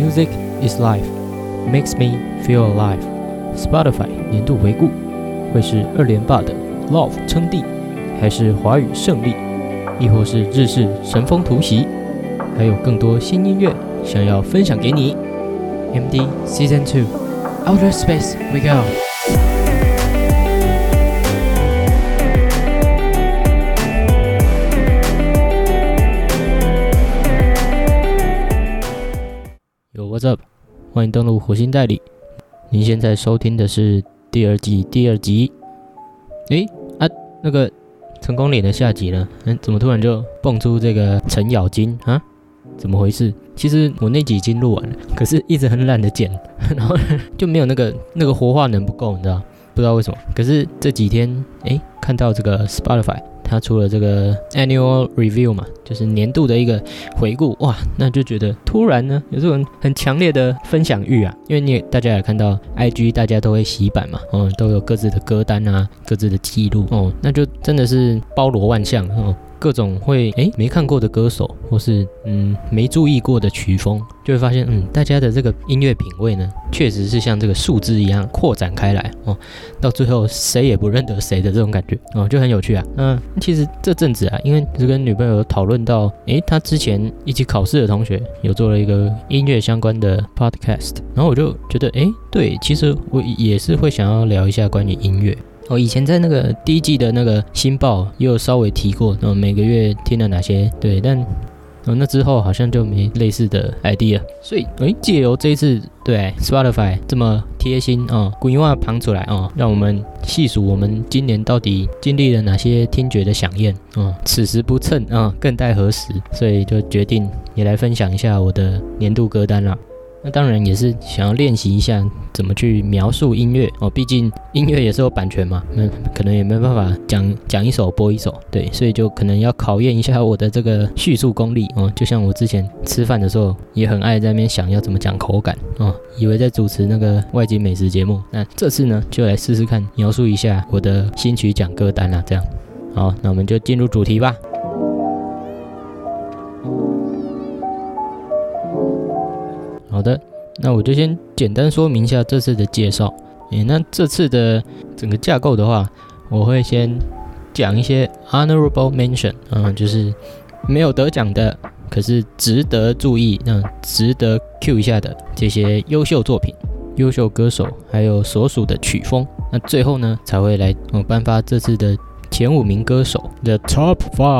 Music is life, makes me feel alive. Spotify 年度回顾会是2连霸的 Love 称帝，还是华语胜利，亦或是日式神风突袭？还有更多新音乐想要分享给你。MD Season 2 Outer Space We Go。What's up？ 欢迎登录火星代理。您现在收听的是第二季第2集。那个成功岭的下集呢？怎么突然就蹦出这个程咬金啊？怎么回事？其实我那集已经录完了，可是一直很懒得剪，然后就没有那个活化能不够，你知道？不知道为什么。可是这几天看到这个 Spotify。他出了这个 annual review 嘛，就是年度的一个回顾，哇，那就觉得突然呢有这种很强烈的分享欲啊，因为大家也看到 IG 大家都会洗版嘛，都有各自的歌单啊，各自的记录那就真的是包罗万象各种会没看过的歌手，或是没注意过的曲风，就会发现大家的这个音乐品味呢，确实是像这个树枝一样扩展开来到最后谁也不认得谁的这种感觉就很有趣啊。其实这阵子啊，因为是跟女朋友讨论到他之前一起考试的同学有做了一个音乐相关的 podcast， 然后我就觉得对，其实我也是会想要聊一下关于音乐。以前在那个第一季的那个新报也有稍微提过，每个月听了哪些，对，但那之后好像就没类似的 idea， 所以借由这一次对 Spotify 这么贴心规划旁出来让我们细数我们今年到底经历了哪些听觉的饗宴此时不趁更待何时，所以就决定也来分享一下我的年度歌单啦。那当然也是想要练习一下怎么去描述音乐毕竟音乐也是有版权嘛，可能也没办法讲一首播一首，对，所以就可能要考验一下我的这个叙述功力就像我之前吃饭的时候也很爱在那边想要怎么讲口感以为在主持那个外景美食节目，那这次呢就来试试看描述一下我的新曲奖歌单啦，这样。好，那我们就进入主题吧。好的，那我就先简单说明一下这次的介绍。那这次的整个架构的话，我会先讲一些 honorable mention，就是没有得奖的，可是值得注意，值得 cue 一下的这些优秀作品、优秀歌手，还有所属的曲风。那最后呢，才会来颁发这次的前5名歌手的 Top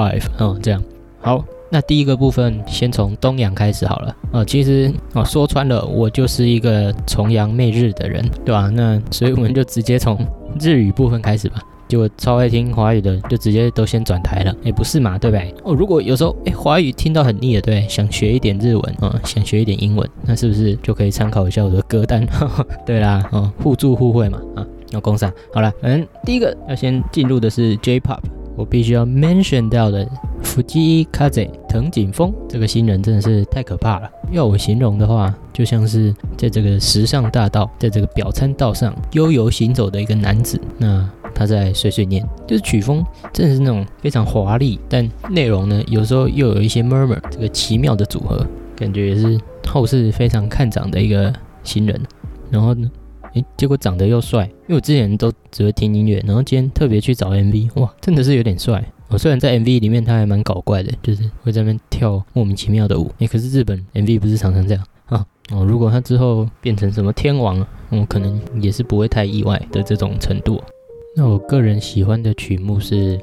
5，这样。好。那第一个部分先从东洋开始好了其实说穿了我就是一个崇洋媚日的人，对吧？那所以我们就直接从日语部分开始吧。结果超爱听华语的就直接都先转台了，不是嘛，对不对？如果有时候华语听到很腻了，对，想学一点日文想学一点英文，那是不是就可以参考一下我的歌单？对啦互助互惠嘛要攻上。好了，第一个要先进入的是 J-Pop， 我必须要 mention 到的Fujii Kaze 藤井风这个新人真的是太可怕了。要我形容的话，就像是在这个时尚大道，在这个表参道上悠游行走的一个男子。那他在碎碎念，就是曲风真的是那种非常华丽，但内容呢有时候又有一些 murmur， 这个奇妙的组合，感觉也是后世非常看涨的一个新人。然后呢结果长得又帅，因为我之前都只会听音乐，然后今天特别去找 MV， 哇，真的是有点帅。虽然在 MV 里面他还蛮搞怪的，就是会在那边跳莫名其妙的舞，可是日本 MV 不是常常这样如果他之后变成什么天王可能也是不会太意外的这种程度。那我个人喜欢的曲目是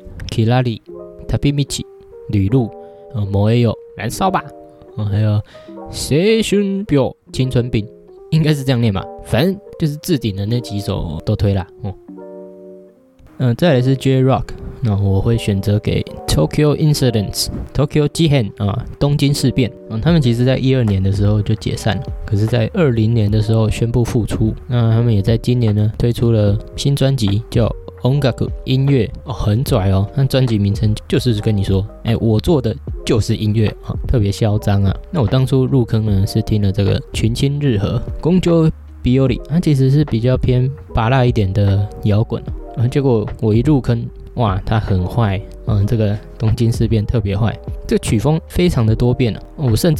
Kirari、Tabimichi、旅路、Moeyo、燃烧吧还有青春病、青春病，应该是这样念吧，反正就是置顶的那几首都推啦再来是 J-Rock， 那我会选择给 Tokyo Incidents、Tokyo Jihen 东京事变他们其实在12年的时候就解散了，可是在20年的时候宣布复出。那他们也在今年呢推出了新专辑叫音楽音乐很拽那专辑名称就是跟你说我做的就是音乐特别嚣张啊。那我当初入坑呢是听了这个群青日和公ጆ비오리，它其实是比较偏芭乐一点的摇滚结果我一入坑哇，它很坏这个东京事变特别坏，这个曲风非常的多变我甚至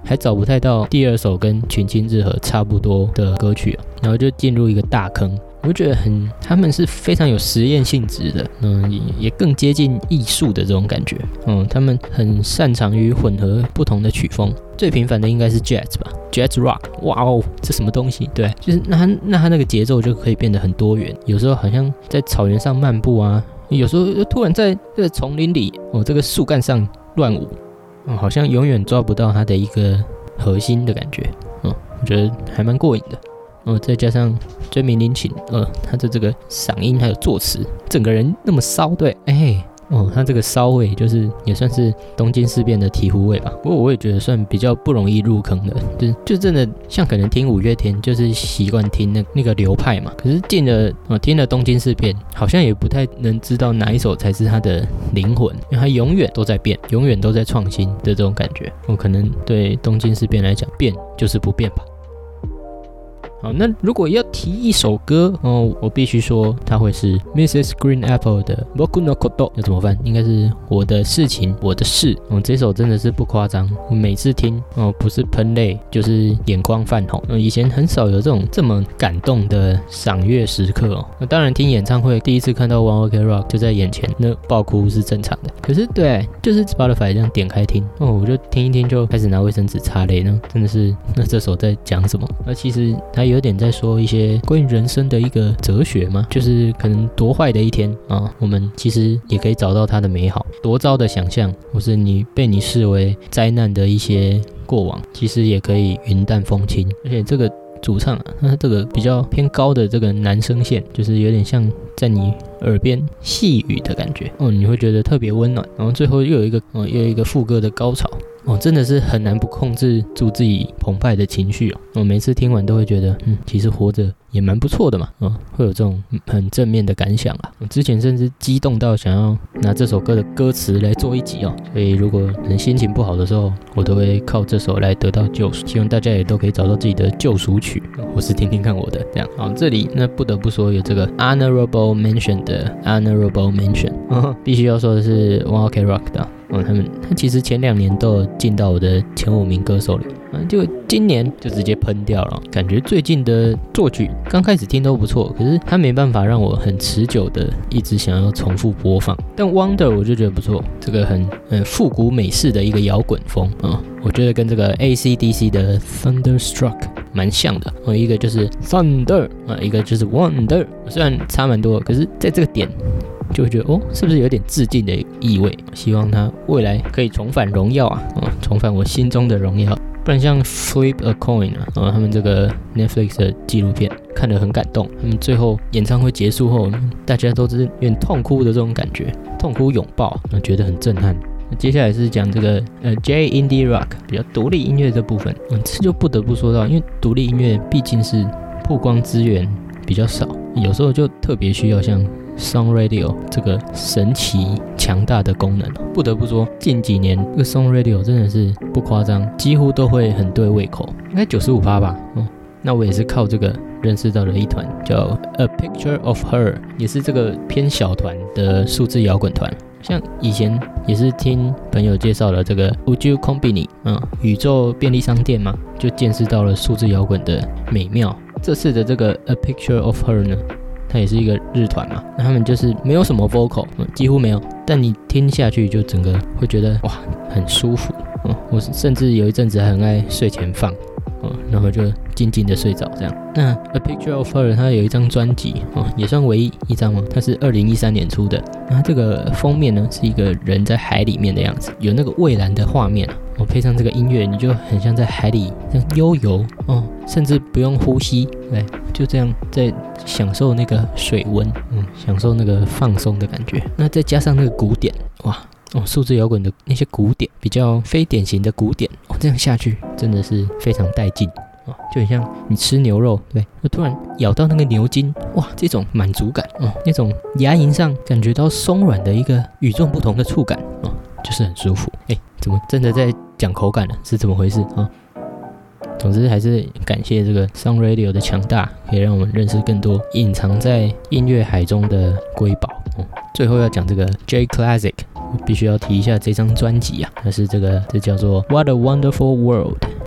还找不太到第二首跟群青日和差不多的歌曲然后就进入一个大坑。我觉得他们是非常有实验性质的，也更接近艺术的这种感觉。他们很擅长于混合不同的曲风，最频繁的应该是 Jazz 吧 ，Jazz Rock。哇哦，这什么东西？对，就是那它那个节奏就可以变得很多元，有时候好像在草原上漫步啊，有时候又突然在这个丛林里这个树干上乱舞，好像永远抓不到它的一个核心的感觉。我觉得还蛮过瘾的。再加上追名林檎，他的这个嗓音还有作词，整个人那么骚，对，他这个骚味就是也算是东京事变的醍醐味吧。不过我也觉得算比较不容易入坑的，就真的像可能听五月天就是习惯听那个流派嘛。可是听了东京事变，好像也不太能知道哪一首才是他的灵魂，因为他永远都在变，永远都在创新的这种感觉。我可能对东京事变来讲，变就是不变吧。好，那如果要提一首歌我必须说它会是 Mrs. Green Apple 的 Boku no Koto， 要怎么翻？应该是我的事情，我的事。这首真的是不夸张，我每次听不是喷泪就是眼眶泛红。以前很少有这么感动的赏月时刻当然听演唱会第一次看到 One Ok Rock 就在眼前，那爆哭是正常的。可是对，就是 Spotify 这样点开听我就听一听就开始拿卫生纸擦泪呢，真的是那这首在讲什么？其实它有点在说一些关于人生的一个哲学嘛，就是可能多坏的一天我们其实也可以找到它的美好，多糟的想象或是你被你视为灾难的一些过往，其实也可以云淡风轻。而且这个主唱他这个比较偏高的这个男声线，就是有点像在你耳边细语的感觉你会觉得特别温暖。然后最后又有一个副歌的高潮真的是很难不控制住自己澎湃的情绪每次听完都会觉得其实活着也蛮不错的嘛会有这种很正面的感想我之前甚至激动到想要拿这首歌的歌词来做一集所以如果心情不好的时候，我都会靠这首来得到救赎。希望大家也都可以找到自己的救赎曲，或是听听看我的这样。好，这里那不得不说有这个 Honorable Mention 的 Honorable Mention 必须要说的是 One Ok Rock 的他其实前2年都有进到我的前5名歌手里就今年就直接喷掉了。感觉最近的作曲刚开始听都不错，可是他没办法让我很持久的一直想要重复播放。但 Wonder 我就觉得不错，这个很复古美式的一个摇滚风我觉得跟这个 AC/DC 的 Thunderstruck 蛮像的一个就是 Thunder 一个就是 Wonder， 虽然差蛮多，可是在这个点就会觉得是不是有点致敬的意味？希望他未来可以重返荣耀重返我心中的荣耀。不然像 Flip a Coin 他们这个 Netflix 的纪录片看得很感动。他们最后演唱会结束后，大家都是有点痛哭的这种感觉，痛哭拥抱，觉得很震撼。接下来是讲这个J Indie Rock 比较独立音乐这部分这就不得不说到，因为独立音乐毕竟是曝光资源比较少，有时候就特别需要像Song Radio 这个神奇强大的功能不得不说近几年这个 Song Radio 真的是不夸张，几乎都会很对胃口，应该 95% 吧那我也是靠这个认识到了一团叫 A Picture of Her， 也是这个偏小团的数字摇滚团。像以前也是听朋友介绍了这个 Uju Kombini 宇宙便利商店嘛，就见识到了数字摇滚的美妙。这次的这个 A Picture of Her 呢，它也是一个日团嘛，那他们就是没有什么 vocal，几乎没有，但你听下去就整个会觉得哇很舒服我甚至有一阵子还很爱睡前放然后就静静的睡着这样。那 A Picture of Her 它有一张专辑也算唯一一张它是2013年出的。那这个封面呢是一个人在海里面的样子，有那个蔚蓝的画面配上这个音乐，你就很像在海里这样悠游甚至不用呼吸，对，就这样在享受那个水温享受那个放松的感觉。那再加上那个鼓点，哇数字摇滚的那些鼓点，比较非典型的鼓点这样下去真的是非常带劲就很像你吃牛肉，对，就突然咬到那个牛筋，哇，这种满足感那种牙龈上感觉到松软的一个与众不同的触感就是很舒服。怎么真的在讲口感了？是怎么回事总之还是感谢这个 Sound Radio 的强大，可以让我们认识更多隐藏在音乐海中的瑰宝最后要讲这个 J Classic， 我必须要提一下这张专辑这叫做 What a Wonderful World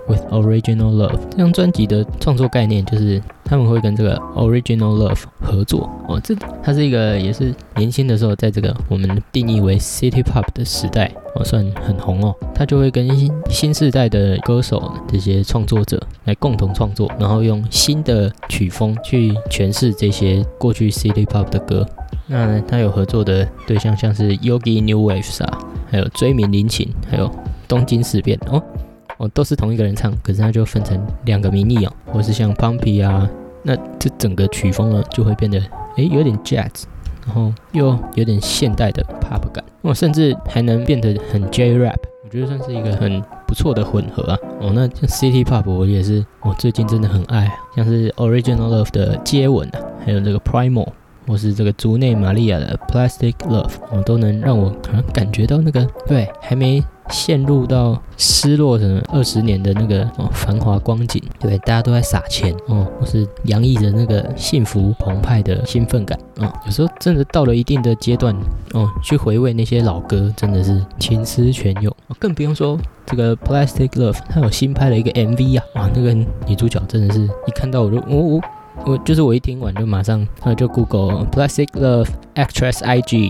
with Original Love 这张专辑的创作概念就是他们会跟这个 Original Love 合作哦，它是一个也是年轻的时候在这个我们定义为 City Pop 的时代哦，算很红哦。他就会跟新世代的歌手这些创作者来共同创作，然后用新的曲风去诠释这些过去 City Pop 的歌。那他有合作的对象像是 Yogi New Waves 啊，还有追名林檎，还有东京事变哦，都是同一个人唱，可是他就分成2个名义哦，或是像 Pumpy 啊，那这整个曲风呢就会变得有点 jazz， 然后又有点现代的 pop 感，甚至还能变得很 J-rap， 我觉得算是一个很不错的混合啊。那像 City Pop 我也是最近真的很爱，像是 Original Love 的接吻啊，还有这个 Primal。或是这个竹内玛利亚的 Plastic Love，都能让我可能感觉到那个还没陷入到失落的20年的那个繁华光景，对，大家都在撒钱或是洋溢着那个幸福澎湃的兴奋感有时候真的到了一定的阶段去回味那些老歌，真的是情思泉涌更不用说这个 Plastic Love， 它有新拍了一个 MV 啊，那个女主角真的是一看到我一听完就马上就 Google Plastic Love Actress IG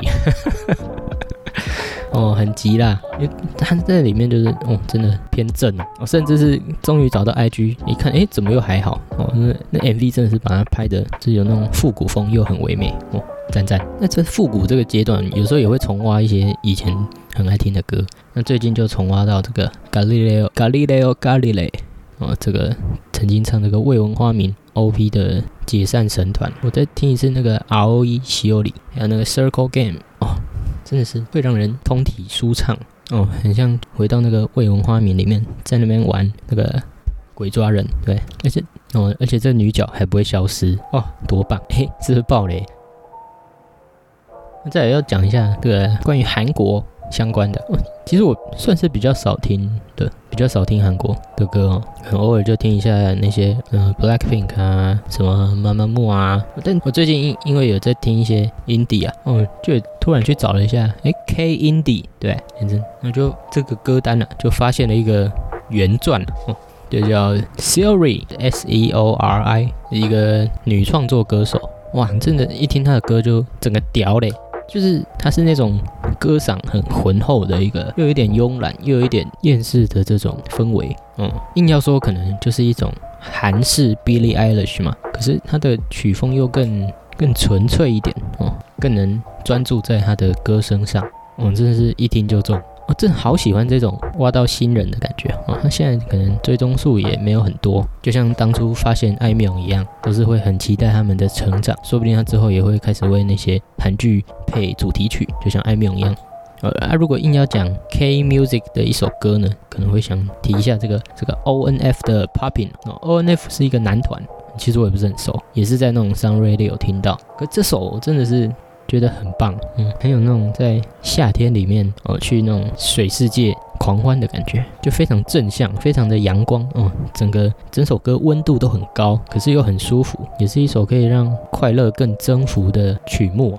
很急啦，因为他在里面就是真的偏正甚至是终于找到 IG 一看怎么又还好那 MV 真的是把它拍的是有那种复古风又很唯美赞。那这复古这个阶段有时候也会重挖一些以前很爱听的歌，那最近就重挖到这个 Galileo Galilei 这个曾经唱这个未闻花名 OP 的解散神团，我再听一次那个 ROE 西欧里，还有那个 Circle Game 真的是会让人通体舒畅很像回到那个未闻花名里面，在那边玩那个鬼抓人，对，而且这女角还不会消失多棒，是不是爆雷？那再来要讲一下这个关于韩国相关的其实我算是比较少听韩国的歌很偶尔就听一下那些Blackpink 啊，什么Mamamoo啊，但我最近因为有在听一些 Indie 啊就突然去找了一下K Indie， 对，那就这个歌单就发现了一个原传就叫 Seori S-E-O-R-I 一个女创作歌手，哇，真的一听她的歌就整个屌嘞，就是她是那种歌嗓很浑厚的一个，又有一点慵懒又有一点厌世的这种氛围硬要说可能就是一种韩式 Billie Eilish 嘛，可是她的曲风又更纯粹一点更能专注在她的歌声上真的是一听就中真的好喜欢这种挖到新人的感觉他现在可能追踪数也没有很多，就像当初发现艾妙一样，都是会很期待他们的成长，说不定他之后也会开始为那些韩剧配主题曲，就像艾妙一样如果硬要讲 K Music 的一首歌呢，可能会想提一下这个 ONF 的 Poppin ONF 是一个男团，其实我也不是很熟，也是在那种 Sound Radio 听到，可这首真的是觉得很棒很有那种在夏天里面去那种水世界狂欢的感觉，就非常正向，非常的阳光整首歌温度都很高，可是又很舒服，也是一首可以让快乐更增幅的曲目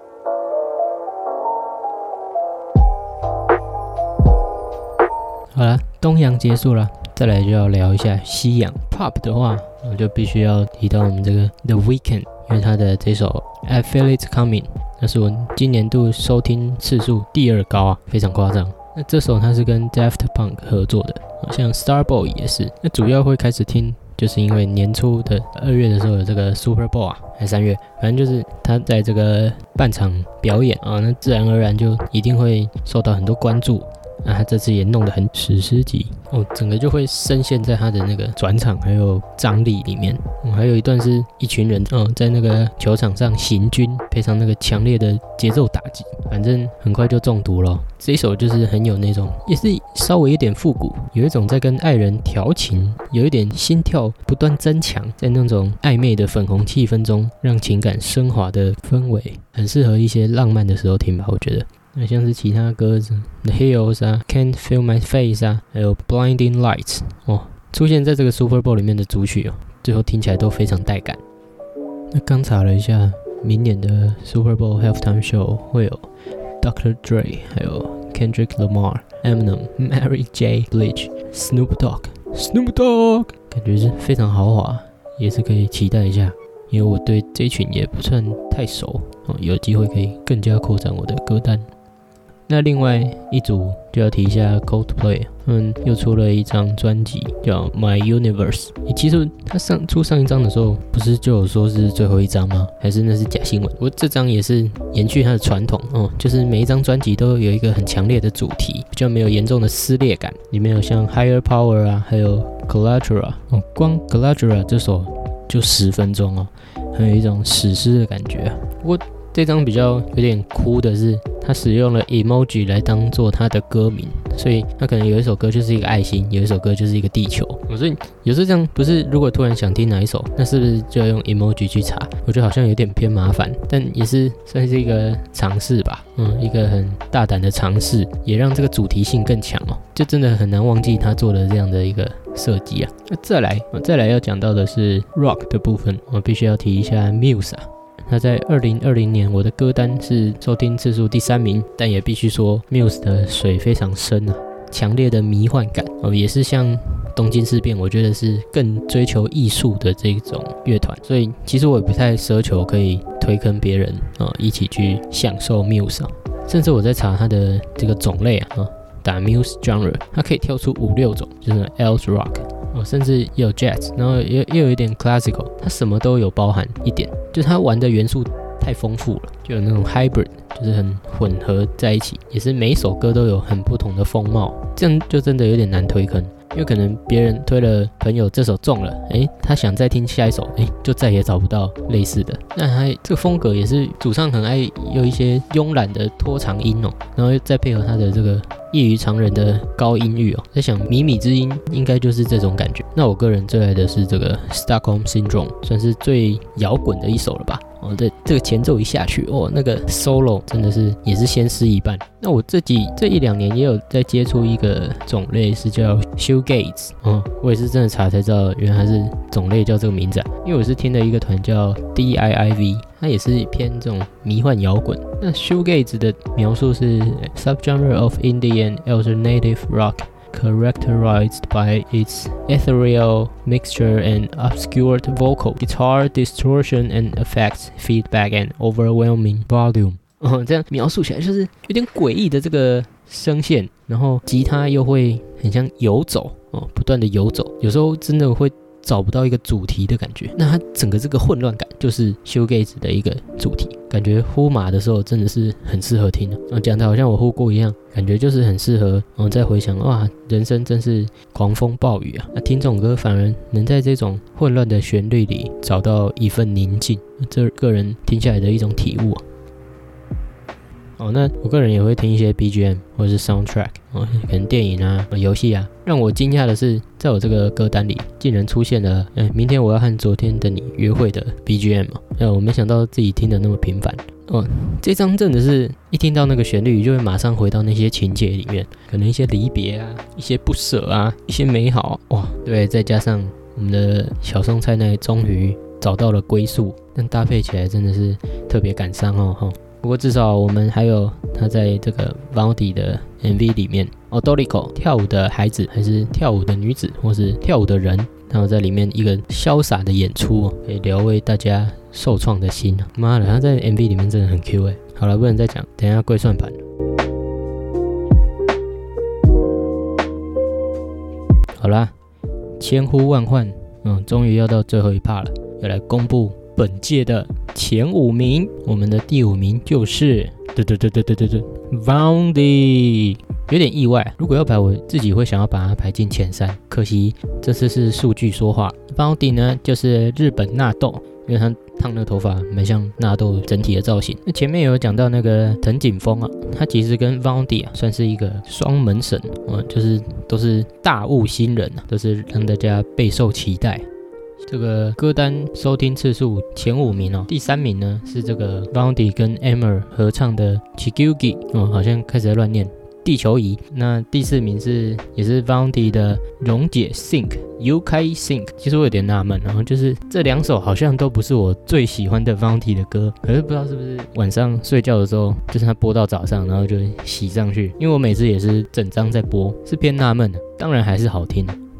好啦，东洋结束了，再来就要聊一下西洋 Pop 的话，我就必须要提到我们这个 The Weeknd， 因为他的这首 I Feel It Coming， 那是我今年度收听次数第2高非常夸张。那这首他是跟 Daft Punk 合作的，像 Starboy 也是。那主要会开始听，就是因为年初的2月的时候有这个 Super Bowl 还是3月，反正就是他在这个半场表演那自然而然就一定会受到很多关注。他这次也弄得很史诗级整个就会深陷在他的那个转场还有张力里面还有一段是一群人在那个球场上行军，配上那个强烈的节奏打击，反正很快就中毒了这一首就是很有那种，也是稍微有点复古，有一种在跟爱人调情，有一点心跳不断增强，在那种暧昧的粉红气氛中让情感升华的氛围，很适合一些浪漫的时候听吧，我觉得。那像是其他歌子 The Hills 啊 Can't Feel My Face 啊，还有 Blinding Lights 出现在这个 Super Bowl 里面的主曲最后听起来都非常带感。那刚查了一下，明年的 Super Bowl Halftime Show 会有 Dr. Dre 还有 Kendrick Lamar Eminem Mary J. Blige Snoop Dogg Snoop Dogg，感觉是非常豪华，也是可以期待一下。因为我对这一群也不算太熟，有机会可以更加扩展我的歌单。那另外一组就要提一下 Coldplay， 他们又出了一张专辑叫 My Universe。其实他出上一张的时候，不是就有说是最后一张吗？还是那是假新闻？不过这张也是延续他的传统就是每一张专辑都有一个很强烈的主题，比较没有严重的撕裂感。里面有像 Higher Power 啊，还有 Collateral 光 Collateral 这首就10分钟很有一种史诗的感觉。不过这张比较有点哭的是，他使用了 emoji 来当做他的歌名，所以他可能有一首歌就是一个爱心，有一首歌就是一个地球。所以有时候这样不是，如果突然想听哪一首，那是不是就要用 emoji 去查？我觉得好像有点偏麻烦，但也是算是一个尝试吧，一个很大胆的尝试，也让这个主题性更强就真的很难忘记他做的这样的一个设计啊。再来要讲到的是 rock 的部分，我必须要提一下 Muse 他在2020年我的歌单是收听次数第3名，但也必须说 Muse 的水非常深强烈的迷幻感也是像东京事变，我觉得是更追求艺术的这种乐团，所以其实我也不太奢求可以推坑别人一起去享受 Muse甚至我在查它的这个种类打 Muse genre， 它可以跳出5-6种，就是 Else Rock甚至也有 Jazz， 然后也有一点 Classical， 它什么都有包含一点，就是它玩的元素太丰富了，就有那种 Hybrid， 就是很混合在一起，也是每一首歌都有很不同的风貌，这样就真的有点难推坑。因为可能别人推了朋友这首中了，他想再听下一首，就再也找不到类似的。那他这个风格也是主唱很爱有一些慵懒的拖长音然后再配合他的这个异于常人的高音域在想靡靡之音应该就是这种感觉。那我个人最爱的是这个 Stockholm Syndrome， 算是最摇滚的一首了吧。这个前奏一下去那个 solo 真的是也是先失一半。那我这1-2年也有在接触一个种类是叫 Shoegaze，我也是真的查才知道原来它是种类叫这个名字因为我是听的一个团叫 DIIV， 它也是偏这种迷幻摇滚。那 Shoegaze 的描述是 subgenre of indie and alternative rock，characterized by its ethereal mixture and obscured vocal, guitar distortion and effects, feedback and overwhelming volume。这样描述起来就是有点诡异的这个声线，然后吉他又会很像游走不断的游走，有时候真的会找不到一个主题的感觉。那它整个这个混乱感就是 Shoegaze 的一个主题，感觉呼麻的时候真的是很适合听讲的好像我呼过一样，感觉就是很适合再回想哇，人生真是狂风暴雨那听这种歌反而能在这种混乱的旋律里找到一份宁静，这个人听下来的一种体悟那我个人也会听一些 BGM 或者是 soundtrack 可能电影游戏让我惊讶的是，在我这个歌单里竟然出现了明天我要和昨天的你约会的 BGM 我没想到自己听得那么频繁这张真的是一听到那个旋律就会马上回到那些情节里面，可能一些离别一些不舍一些美好对，再加上我们的小松菜奈终于找到了归宿，但搭配起来真的是特别感伤不过至少我们还有他在这个 Vaundy 的 MV 里面Doriko 跳舞的孩子，还是跳舞的女子，或是跳舞的人，然后在里面一个潇洒的演出可以疗慰大家受创的心妈的，他在 MV 里面真的很 Q 好了，不能再讲，等一下跪算盘。好啦，千呼万唤终于要到最后一趴了，要来公布本届的前5名。我们的第5名就是Vaundy， 有点意外，如果要排我自己会想要把它排进前3，可惜这次是数据说话。Vaundy 呢就是日本纳豆，因为他烫那个头发蛮像纳豆整体的造型。那前面有讲到那个藤井风他其实跟 Vaundy 算是一个双门神就是都是大物新人都是让大家备受期待。这个歌单收听次数前5名第3名呢是这个 Vaundy 跟 Emmer 合唱的 Chikugi 好像开始在乱念地球仪。那第4名也是 Vaundy 的溶解 Sync Yukai Sync。其实我有点纳闷就是这2首好像都不是我最喜欢的 Vaundy 的歌，可是不知道是不是晚上睡觉的时候就是他播到早上然后就洗上去，因为我每次也是整张在播，是偏纳闷的。当然还是好听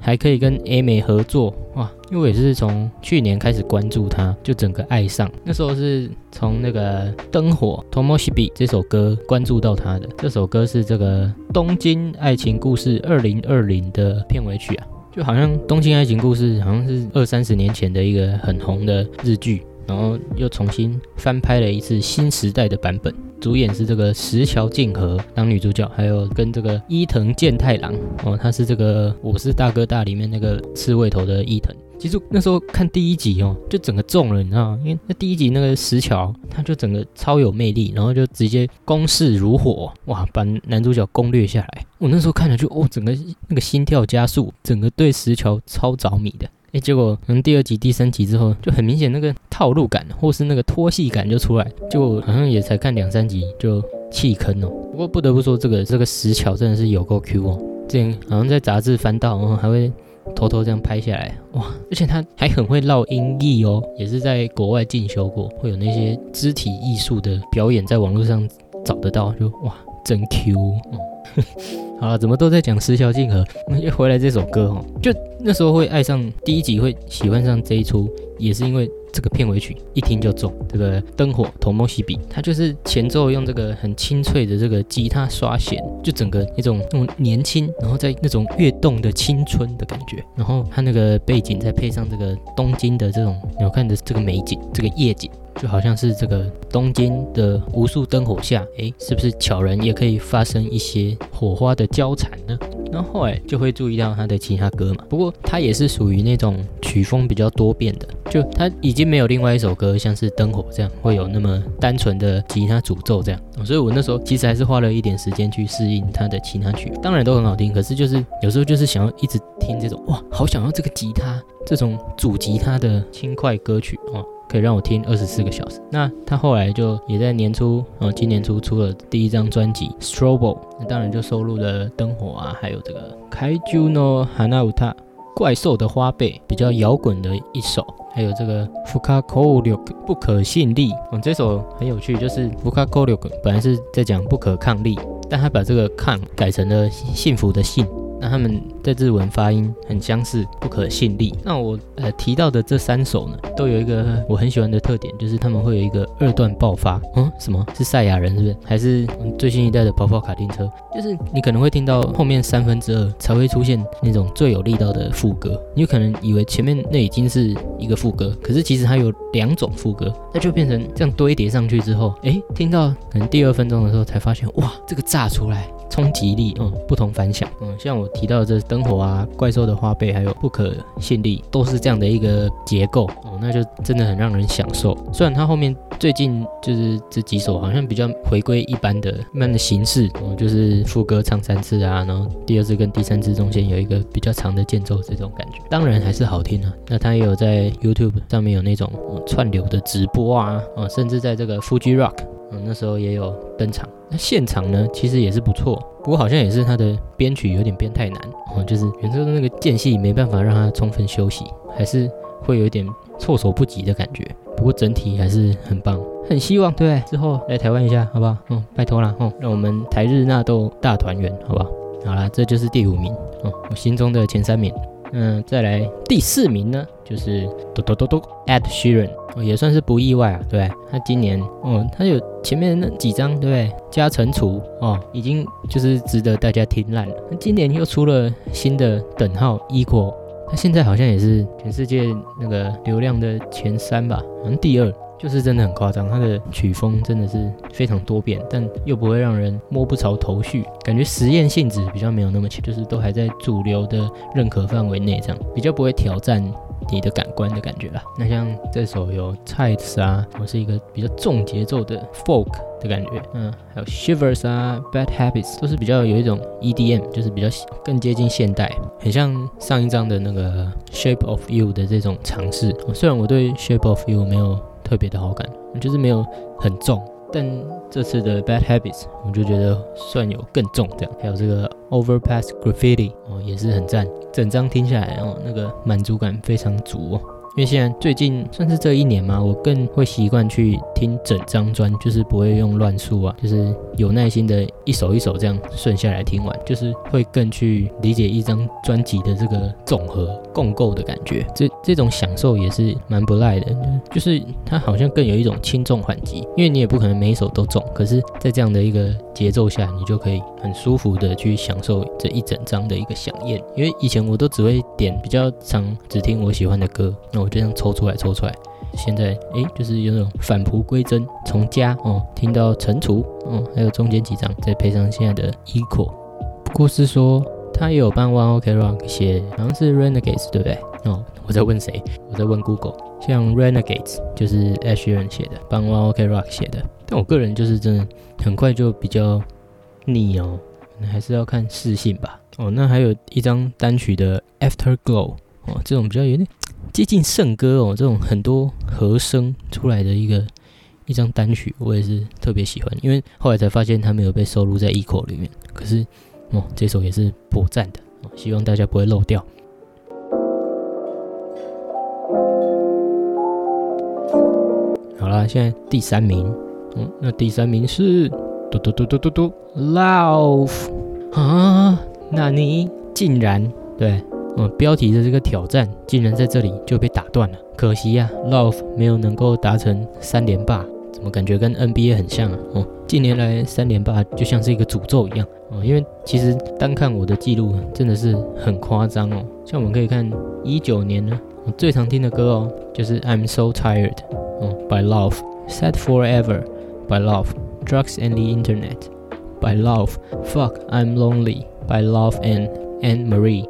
还可以跟 A 美合作，哇！因为我也是从去年开始关注他，就整个爱上。那时候是从那个灯火 Tomoshibi 这首歌关注到他的。这首歌是这个东京爱情故事2020的片尾曲啊，就好像东京爱情故事好像是20-30年前的一个很红的日剧，然后又重新翻拍了一次新时代的版本。主演是这个石桥静河当女主角，还有跟这个伊藤健太郎哦，他是这个我是大哥大里面那个刺猬头的伊藤。其实那时候看第一集哦，就整个中了，你知道吗？因为那第一集那个石桥，他就整个超有魅力，然后就直接攻势如火，哇，把男主角攻略下来。我那时候看了就整个那个心跳加速，整个对石桥超着迷的。结果可能第2集、第3集之后，就很明显那个套路感或是那个拖戏感就出来，就好像也才看2-3集就弃坑哦。不过不得不说，这个石桥真的是有够 Q 哦。之前好像在杂志翻到，然后还会偷偷这样拍下来，哇！而且他还很会绕音译哦，也是在国外进修过，会有那些肢体艺术的表演，在网络上找得到，就哇，真 Q 好了，怎么都在讲石桥静河，又回来这首歌哦，就那时候会爱上第一集，会喜欢上这一出，也是因为这个片尾曲一听就中。这个灯火 Tomoshibi， 它就是前奏用这个很清脆的这个吉他刷弦，就整个一种那种年轻，然后在那种跃动的青春的感觉。然后它那个背景再配上这个东京的这种你看的这个美景，这个夜景。就好像是这个东京的无数灯火下，是不是悄然也可以发生一些火花的交缠呢？然后后来就会注意到他的其他歌嘛，不过他也是属于那种曲风比较多变的，就他已经没有另外一首歌像是灯火这样会有那么单纯的吉他主奏这样，所以我那时候其实还是花了一点时间去适应他的其他曲，当然都很好听，可是就是有时候就是想要一直听这种哇，好想要这个吉他这种主吉他的轻快歌曲哦。可以让我听24个小时。那他后来就也在年初，今年初出了第1张专辑《Strobo》，那当然就收录了灯火啊，还有这个 Kaiju no Hanauta 怪兽的花呗，比较摇滚的一首，还有这个 Fukakou 不可信力，这首很有趣，就是 Fukakou 本来是在讲不可抗力，但他把这个抗改成了幸福的幸。那他们在日文发音很相似，不可信力。那我提到的这3首呢，都有一个我很喜欢的特点，就是他们会有一个2段爆发。什么是赛亚人是不是？还是最新一代的跑跑卡丁车？就是你可能会听到后面2/3才会出现那种最有力道的副歌，你有可能以为前面那已经是一个副歌，可是其实它有2种副歌，那就变成这样堆叠上去之后，听到可能第2分钟的时候才发现，哇，这个炸出来。冲击力，不同凡响，像我提到的这灯火啊、怪兽的花呗，还有不可信力，都是这样的一个结构，那就真的很让人享受。虽然它后面最近就是这几首好像比较回归一般的形式，就是副歌唱3次啊，然后第2次跟第3次中间有一个比较长的间奏，这种感觉，当然还是好听啊。那它也有在 YouTube 上面有那种串流的直播啊，甚至在这个 Fuji Rock。那时候也有登场，那现场呢其实也是不错，不过好像也是他的编曲有点变太难就是原作的那个间隙没办法让他充分休息，还是会有一点措手不及的感觉。不过整体还是很棒，很希望对之后来台湾一下，好不好？拜托啦，让我们台日纳豆大团圆，好不好？好啦，这就是第5名我心中的前3名。再来第4名呢，就是Ed Sheeran，也算是不意外啊，对不对？他今年他有前面那几张，对不对？加乘除已经就是值得大家听烂了。今年又出了新的等号 Equal， 他现在好像也是全世界那个流量的前3吧，好像第2。就是真的很夸张，它的曲风真的是非常多变，但又不会让人摸不着头绪，感觉实验性质比较没有那么强，就是都还在主流的认可范围内，这样比较不会挑战你的感官的感觉啦。那像这首有 Tides 啊，是一个比较重节奏的 folk 的感觉，还有 Shivers 啊 Bad Habits 都是比较有一种 EDM， 就是比较更接近现代，很像上一张的那个 Shape of You 的这种尝试。虽然我对 Shape of You 没有特别的好感，就是没有很重，但这次的 Bad Habits 我就觉得算有更重这样。还有这个 Overpass Graffiti 也是很赞，整张听下来那个满足感非常足因为现在最近算是这一年嘛，我更会习惯去听整张专，就是不会用乱数啊，就是有耐心的一首一首这样顺下来听完，就是会更去理解一张专辑的这个总和共构的感觉。这种享受也是蛮不赖的，就是它好像更有一种轻重缓急，因为你也不可能每一首都中，可是在这样的一个节奏下，你就可以很舒服的去享受这一整张的一个响宴。因为以前我都只会点比较常只听我喜欢的歌，那我就这样抽出来。现在就是有那种返璞归真，从家听到惩除还有中间几张，再配上现在的 Equal。不过是说他也有帮 One OK Rock 写，好像是 Renegades 对不对？我在问谁？我在问 Google。像 Renegades 就是 Ed Sheeran 写的，帮 One OK Rock 写的。但我个人就是真的很快就比较腻还是要看视性吧。那还有一张单曲的 Afterglow 这种比较有点接近圣歌这种很多和声出来的一张单曲，我也是特别喜欢，因为后来才发现它没有被收录在 Equal 里面，可是这首也是颇赞的希望大家不会漏掉。好啦，现在第3名，那第3名是Lauv 啊，那你竟然对。标题的这个挑战竟然在这里就被打断了，可惜啊 Lauv 没有能够达成3连霸，怎么感觉跟 NBA 很像啊？近年来3连霸就像是一个诅咒一样因为其实单看我的记录真的是很夸张像我们可以看19年呢，我最常听的歌就是 I'm So Tired by Lauv, Sad Forever by Lauv, Drugs and the Internet by Lauv, Fuck I'm Lonely by Lauv and Anne Marie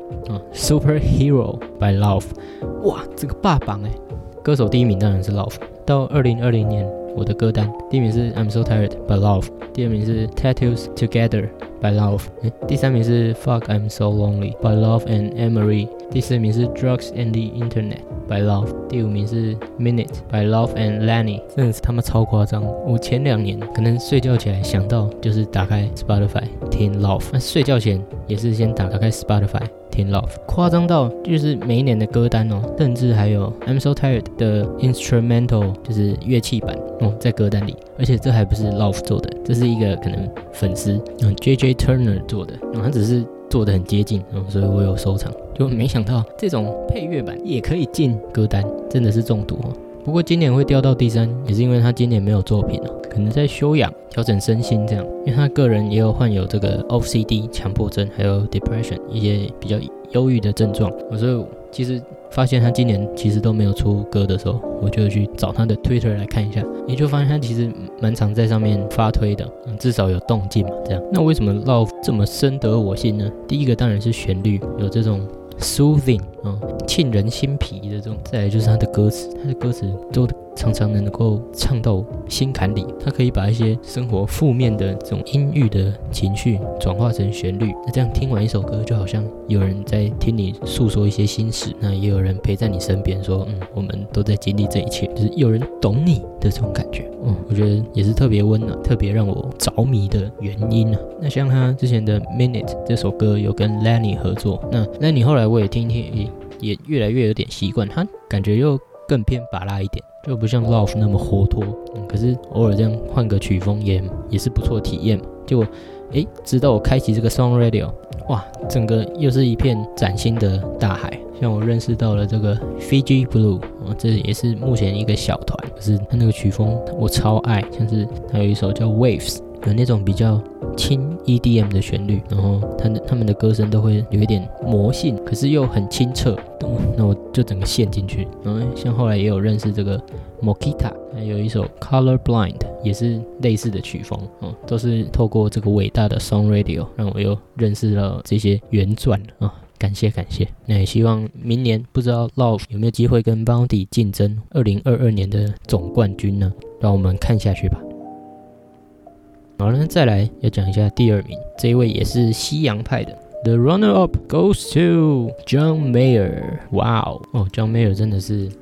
Superhero by Lauv。 哇，这个霸榜歌手第一名当然是 Lauv。 到2020年我的歌单第一名是 I'm So Tired by Lauv， 第2名是 Tattoos Together by Lauv， 第3名是 Fuck I'm So Lonely by Lauv and Anne Marie， 第4名是 Drugs and the Internet by Lauv， 第5名是 Minute by Lauv and Lani。 真的是他妈超夸张，我前2年可能睡觉起来想到就是打开 Spotify 听 Lauv， 那睡觉前也是先打开 Spotify听 Lauv， 夸张到就是每一年的歌单甚至还有 I'm So Tired 的 Instrumental 就是乐器版在歌单里，而且这还不是 Lauv 做的，这是一个可能粉丝JJ Turner 做的，他只是做的很接近所以我有收藏，就没想到这种配乐版也可以进歌单，真的是中毒不过今年会掉到第3，也是因为他今年没有作品可能在休养、调整身心这样，因为他个人也有患有这个 OCD 强迫症，还有 depression 一些比较忧郁的症状，所以其实发现他今年其实都没有出歌的时候，我就去找他的 Twitter 来看一下，也就发现他其实蛮常在上面发推的，至少有动静嘛这样。那为什么 Lauv 这么深得我心呢？第一个当然是旋律有这种soothing 沁人心脾的这种，再来就是他的歌词都常常能够唱到心坎里，他可以把一些生活负面的这种阴郁的情绪转化成旋律，那这样听完一首歌就好像有人在听你诉说一些心事，那也有人陪在你身边说我们都在经历这一切，就是有人懂你的这种感觉我觉得也是特别温暖，特别让我着迷的原因那像他之前的 Minute 这首歌有跟 Lani 合作，那 Lani 后来我也听也越来越有点习惯，他感觉又更偏芭乐一点，就不像 Lauv 那么活脱可是偶尔这样换个曲风也是不错的体验嘛。结果直到我开启这个 Song Radio， 哇，整个又是一片崭新的大海。像我认识到了这个 Fiji Blue 这也是目前一个小团，可是他那个曲风我超爱，像是他有一首叫 Waves， 有那种比较轻 EDM 的旋律，然后他们的歌声都会有一点魔性，可是又很清澈，那我就整个陷进去。然后像后来也有认识这个 Mokita， 还有一首 Color Blind 也是类似的曲风都是透过这个伟大的 Song Radio 让我又认识了这些原钻感谢。那也希望明年不知道 Lauv 有没有机会跟 Bounty 竞争2022年的总冠军呢？让我们看下去吧。好了，再来要讲一下第2名，这一位也是西洋派的。The runner-up goes to John Mayer。哇John Mayer 真的是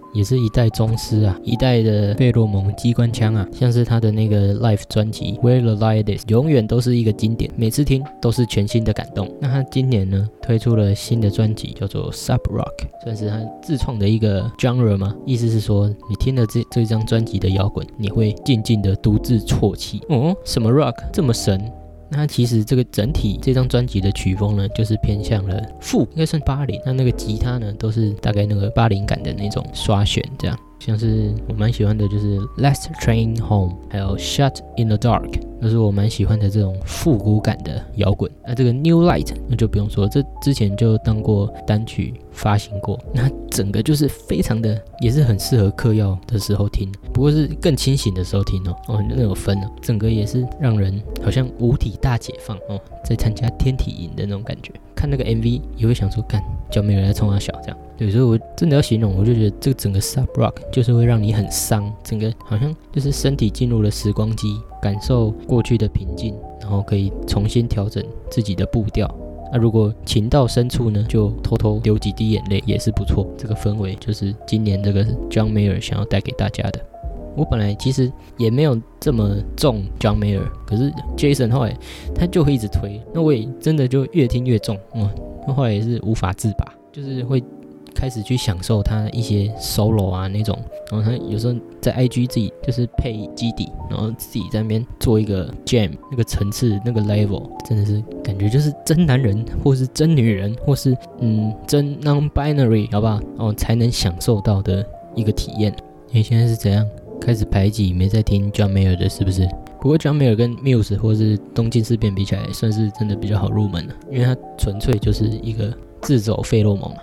也是一代宗师啊，一代的费洛蒙机关枪啊，像是他的那个 Live 专辑 Where the Light Is 永远都是一个经典，每次听都是全新的感动。那他今年呢推出了新的专辑叫做 Sub Rock， 算是他自创的一个 genre 吗？意思是说你听了这张专辑的摇滚，你会静静的独自啜泣。哦，什么 rock 这么神？那其实这个整体这张专辑的曲风呢，就是偏向了应该算80，那个吉他呢都是大概那个80感的那种刷弦这样。像是我蛮喜欢的就是 Last Train Home 还有 Shut in the Dark， 都是我蛮喜欢的这种复古感的摇滚。那这个 New Light 那就不用说，这之前就当过单曲发行过，那整个就是非常的，也是很适合嗑药的时候听，不过是更清醒的时候听那有分哦，整个也是让人好像五体大解放在参加天体营的那种感觉。看那个 MV 也会想说，干叫没人来冲他小这样。对，所以我真的要形容，我就觉得这个整个 Sub Rock 就是会让你很伤，整个好像就是身体进入了时光机，感受过去的平静，然后可以重新调整自己的步调。那如果情到深处呢，就偷偷流几滴眼泪也是不错。这个氛围就是今年这个 John Mayer 想要带给大家的。我本来其实也没有这么重 John Mayer， 可是 Jason 后来他就会一直推，那我也真的就越听越重，后来也是无法自拔，就是会开始去享受他一些 solo 啊那种，然后他有时候在 IG 自己就是配基底，然后自己在那边做一个 jam， 那个层次那个 level 真的是感觉就是真男人或是真女人或是真 non-binary 好不好才能享受到的一个体验。现在是怎样开始排挤没在听 John Mayer 的是不是？不过 John Mayer 跟 Muse 或是东京事变比起来，算是真的比较好入门了，因为它纯粹就是一个自走费洛蒙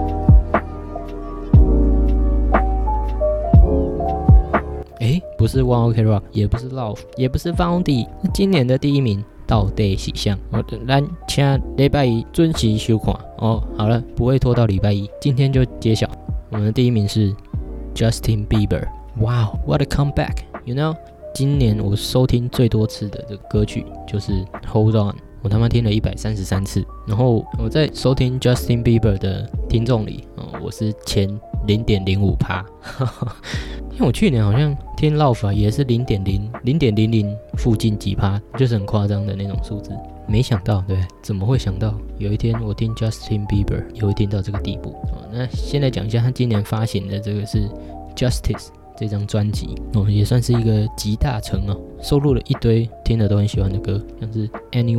不是 One OK Rock， 也不是 Love， 也不是 Foundy， 那今年的第一名到底是谁？咱请礼拜一准时收看好了，不会拖到礼拜一，今天就揭晓，我们的第一名是 Justin Bieber。Wow, what a comeback! You know， 今年我收听最多次的这个歌曲就是 Hold On， 我他妈听了133次。然后我在收听 Justin Bieber 的听众里，我是前 0.05%， 因为我去年好像听 Love 也是 0.00附近几%，就是很夸张的那种数字。没想到，对，怎么会想到有一天我听 Justin Bieber 也会听到这个地步？那先来讲一下他今年发行的这个是 Justice。这张专辑也算是一个集大成收录了一堆听了都很喜欢的歌，像是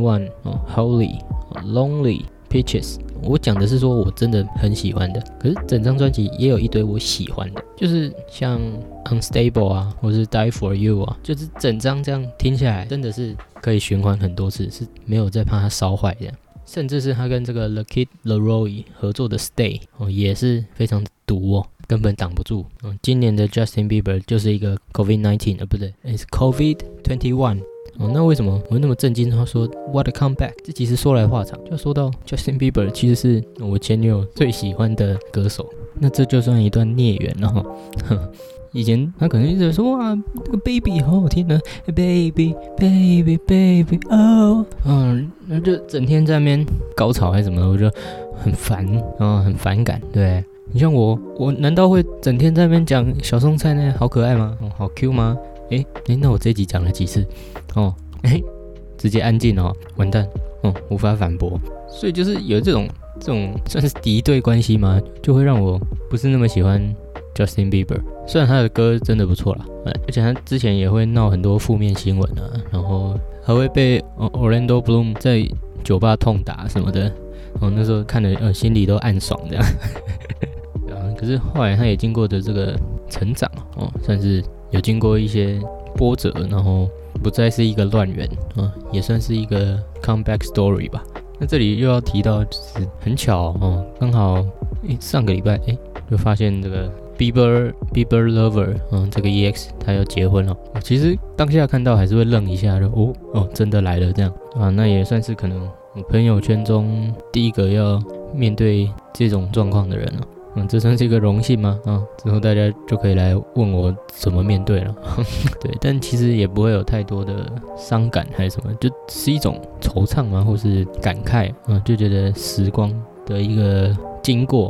Anyone、Holy、Lonely、Peaches。我讲的是说我真的很喜欢的，可是整张专辑也有一堆我喜欢的，就是像 Unstable 啊，或是 Die For You 啊，就是整张这样听下来真的是可以循环很多次，是没有再怕它烧坏这样。甚至是他跟这个 The Kid Laroi 合作的 Stay 也是非常毒根本挡不住。今年的 Justin Bieber 就是一个 COVID-19 不对，是 COVID-21。那为什么我那么震惊？他说 What a comeback！ 这其实说来话长，就说到 Justin Bieber 其实是我前女友最喜欢的歌手，那这就算一段孽缘了以前他可能一直说哇，那个 Baby 好好听呢 ，Baby Baby Baby 那就整天在那边高潮还是什么的，我就很烦很反感。对，你像我难道会整天在那边讲小送菜呢？好可爱吗？好 Q 吗？那我这一集讲了几次？直接安静完蛋无法反驳。所以就是有这种算是敌对关系吗？就会让我不是那么喜欢 Justin Bieber。虽然他的歌真的不错啦，而且他之前也会闹很多负面新闻然后还会被Orlando Bloom 在酒吧痛打什么的。那时候看了心里都暗爽这样。可是后来他也经过的这个成长算是有经过一些波折，然后不再是一个乱源也算是一个 comeback story 吧。那这里又要提到，就是很巧刚好上个礼拜就发现这个 Bieber Lover 这个 EX 他要结婚了。其实当下看到还是会愣一下，就真的来了这样那也算是可能我朋友圈中第一个要面对这种状况的人了。这算是一个荣幸吗？之后大家就可以来问我怎么面对了。对，但其实也不会有太多的伤感还是什么，就是一种惆怅嘛，或是感慨就觉得时光的一个经过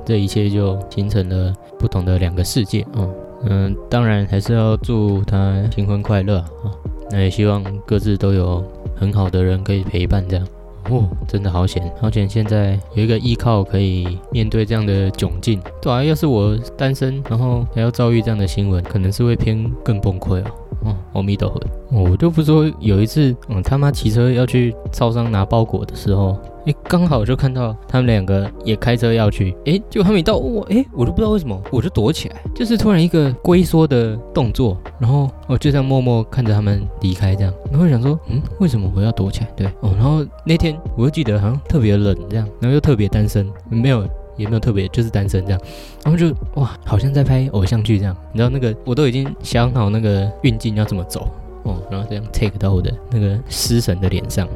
这一切就形成了不同的2个世界当然还是要祝他新婚快乐那也希望各自都有很好的人可以陪伴这样。真的好险，现在有一个依靠可以面对这样的窘境。对啊，要是我单身，然后还要遭遇这样的新闻，可能是会偏更崩溃阿弥陀佛。我就不说有一次，他妈骑车要去超商拿包裹的时候，刚好就看到他们2个也开车要去，结果他们一到我就不知道为什么，我就躲起来，就是突然一个龟缩的动作，然后我就这样默默看着他们离开，这样，然后想说，为什么我要躲起来？对然后那天我就记得好像特别冷这样，然后又特别单身，也没有特别，就是单身这样，然后就好像在拍偶像剧这样，你知道那个我都已经想好那个运镜要怎么走然后这样 take 到我的那个失神的脸上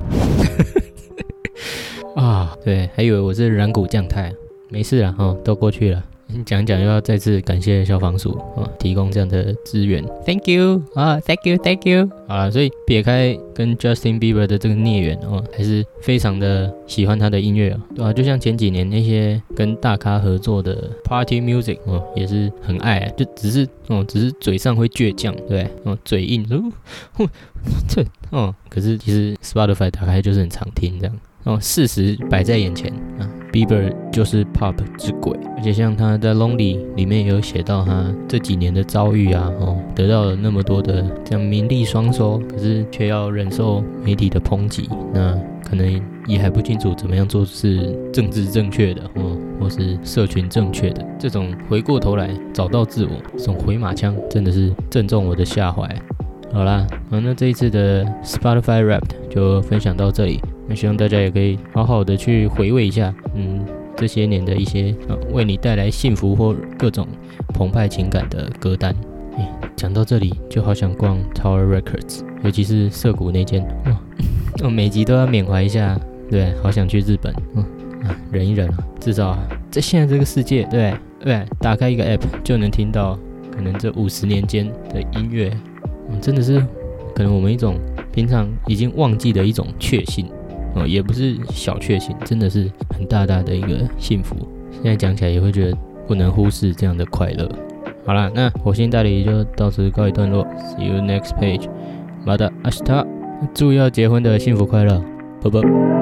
对，还以为我是染骨降态，没事啦都过去了。讲又要再次感谢消防署提供这样的资源 ，Thank you Thank you。好啦，所以撇开跟 Justin Bieber 的这个孽缘还是非常的喜欢他的音乐对吧？就像前几年那些跟大咖合作的 Party Music 也是很爱就只是嘴上会倔强，对嘴硬可是其实 Spotify 打开就是很常听这样事实摆在眼前Bieber 就是 Pop 之鬼，而且像他在 Lonely 里面也有写到他这几年的遭遇得到了那么多的这样名利双收，可是却要忍受媒体的抨击，那可能也还不清楚怎么样做是政治正确的或是社群正确的，这种回过头来找到自我，这种回马枪真的是正中我的下怀。好啦那这一次的 Spotify Wrapped 就分享到这里，那希望大家也可以好好的去回味一下这些年的一些为你带来幸福或各种澎湃情感的歌单。讲到这里就好想逛 Tower Records， 尤其是涩谷那间每集都要缅怀一下，对，好想去日本忍一忍至少在现在这个世界，对，打开一个 app 就能听到可能这50年间的音乐真的是可能我们一种平常已经忘记的一种确幸也不是小确幸，真的是很大大的一个幸福。现在讲起来也会觉得不能忽视这样的快乐。好啦，那火星大礼就到此告一段落 ，See you next page， また明日，祝要结婚的幸福快乐，拜拜。